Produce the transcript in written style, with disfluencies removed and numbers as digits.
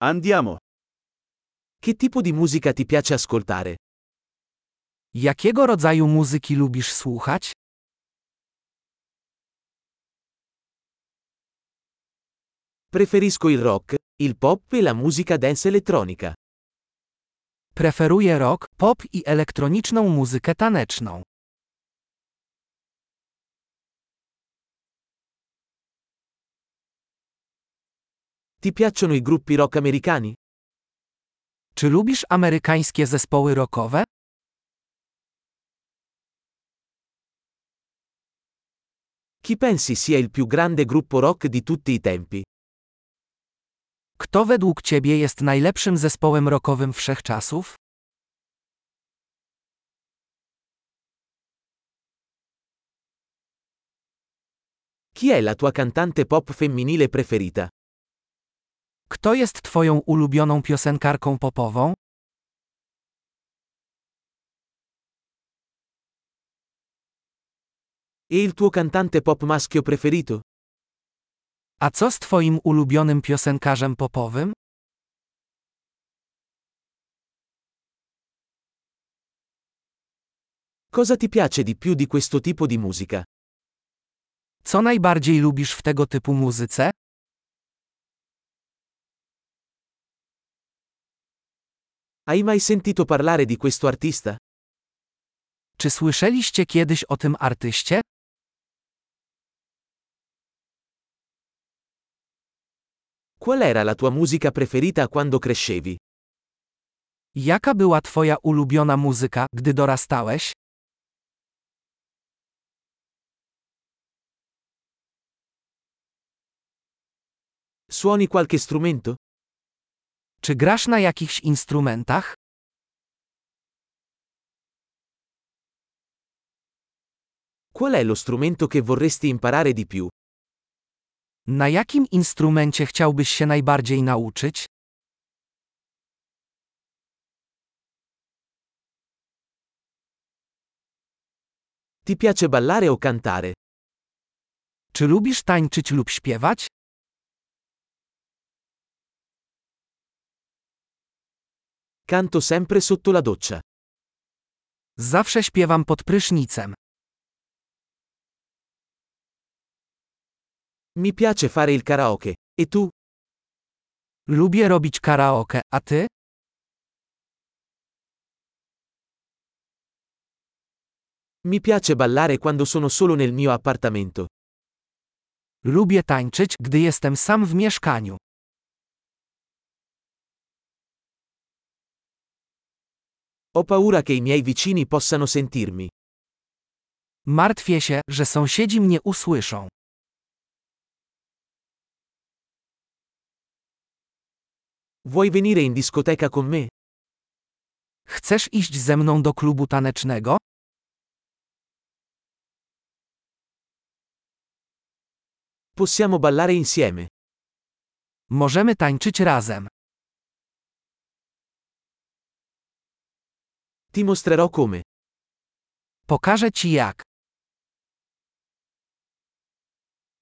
Andiamo. Che tipo di musica ti piace ascoltare? Jakiego rodzaju muzyki lubisz słuchać? Preferisco il rock, il pop e la musica dance elettronica. Preferuję rock, pop i elektroniczną muzykę taneczną. Ti piacciono i gruppi rock americani? Czy lubisz amerykańskie zespoły rockowe? Chi pensi sia il più grande gruppo rock di tutti i tempi? Kto według ciebie jest najlepszym zespołem rockowym wszechczasów? Chi è la tua cantante pop femminile preferita? Kto jest twoją ulubioną piosenkarką popową? E il tuo cantante pop maschio preferito? A co z twoim ulubionym piosenkarzem popowym? Cosa ti piace di più di questo tipo di musica? Co najbardziej lubisz w tego typu muzyce? Hai mai sentito parlare di questo artista? Czy słyszeliście kiedyś o tym artyście? Qual era la tua musica preferita quando crescevi? Jaka była twoja ulubiona muzyka, gdy dorastałeś? Suoni qualche strumento? Czy grasz na jakichś instrumentach? Qual è lo strumento che vorresti imparare di più? Na jakim instrumencie chciałbyś się najbardziej nauczyć? Ti piace ballare o cantare? Czy lubisz tańczyć lub śpiewać? Canto sempre sotto la doccia. Zawsze śpiewam pod prysznicem. Mi piace fare il karaoke. E tu? Lubię robić karaoke, a ty? Mi piace ballare quando sono solo nel mio appartamento. Lubię tańczyć, gdy jestem sam w mieszkaniu. Ho paura che i miei vicini possano sentirmi. Martwię się, że sąsiedzi mnie usłyszą. Vuoi venire in discoteca con me? Chcesz iść ze mną do klubu tanecznego? Possiamo ballare insieme. Możemy tańczyć razem. Ti mostrerò come. Pokażę ci jak.